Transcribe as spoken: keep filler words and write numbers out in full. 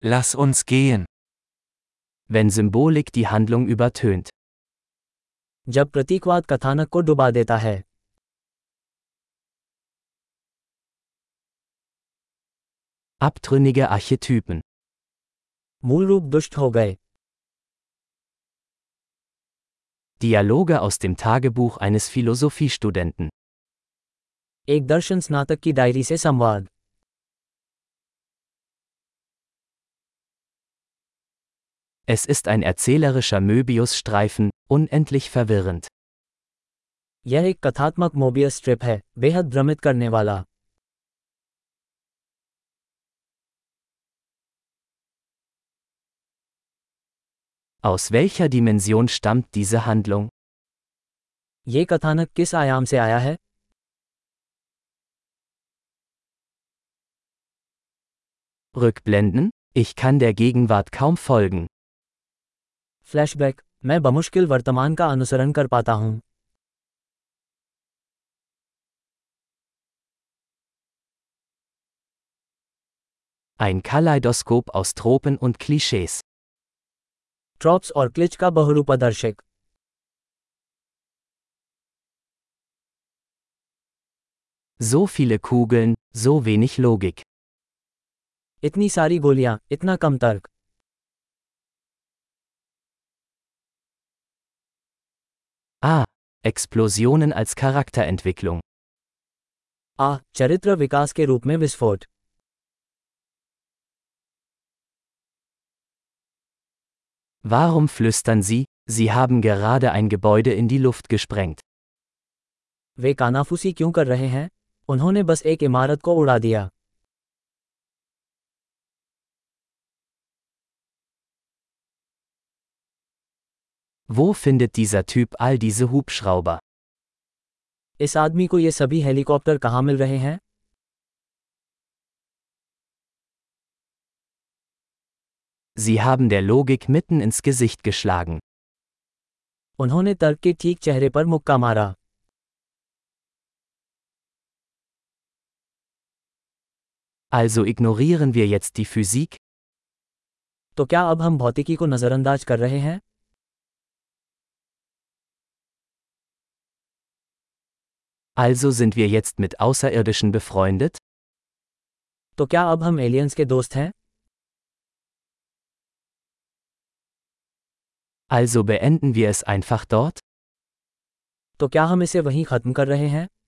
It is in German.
Lass uns gehen. Wenn Symbolik die Handlung übertönt. जब प्रतीकवाद कथानक को डुबा देता है. Abtrünnige Archetypen. मूल रूप दुष्ट हो गए. Dialoge aus dem Tagebuch eines Philosophiestudenten. एक दर्शन स्नातक की डायरी से संवाद. Es ist ein erzählerischer Möbius-Streifen, unendlich verwirrend. यह एक कथात्मक मोबियस स्ट्रिप है, बेहद भ्रमित करने वाला. Aus welcher Dimension stammt diese Handlung? ये कथानक किस आयाम से आया है? Rückblenden? Ich kann der Gegenwart kaum folgen. Flashback, मैं बमुश्किल वर्तमान का अनुसरण कर पाता हूं. Ein Kaleidoskop aus Tropen und Klischees. Trophs और क्लिच का बहुरूपदर्शक. So viele Kugeln, so wenig Logik. इतनी सारी गोलियां, इतना कम तर्क. Ah, Explosionen als Charakterentwicklung. आ, चरित्र विकास के रूप में विस्फोट. Warum flüstern Sie, Sie haben gerade ein Gebäude in die Luft gesprengt? वे कानाफूसी क्यों कर रहे हैं? उन्होंने बस एक इमारत को उड़ा दिया. Wo findet dieser Typ all diese Hubschrauber? इस आदमी को ये सभी हेलीकॉप्टर कहाँ मिल रहे हैं? Sie haben der Logik mitten ins Gesicht geschlagen. उन्होंने तर्क के ठीक चेहरे पर मुक्का मारा. Also ignorieren wir jetzt die Physik? तो क्या अब हम भौतिकी को नजरअंदाज कर रहे हैं? Also sind wir jetzt mit Außerirdischen befreundet? तो क्या अब हम एलियंस के दोस्त हैं? Also beenden wir es einfach dort? तो क्या हम इसे वहीं खत्म कर रहे हैं?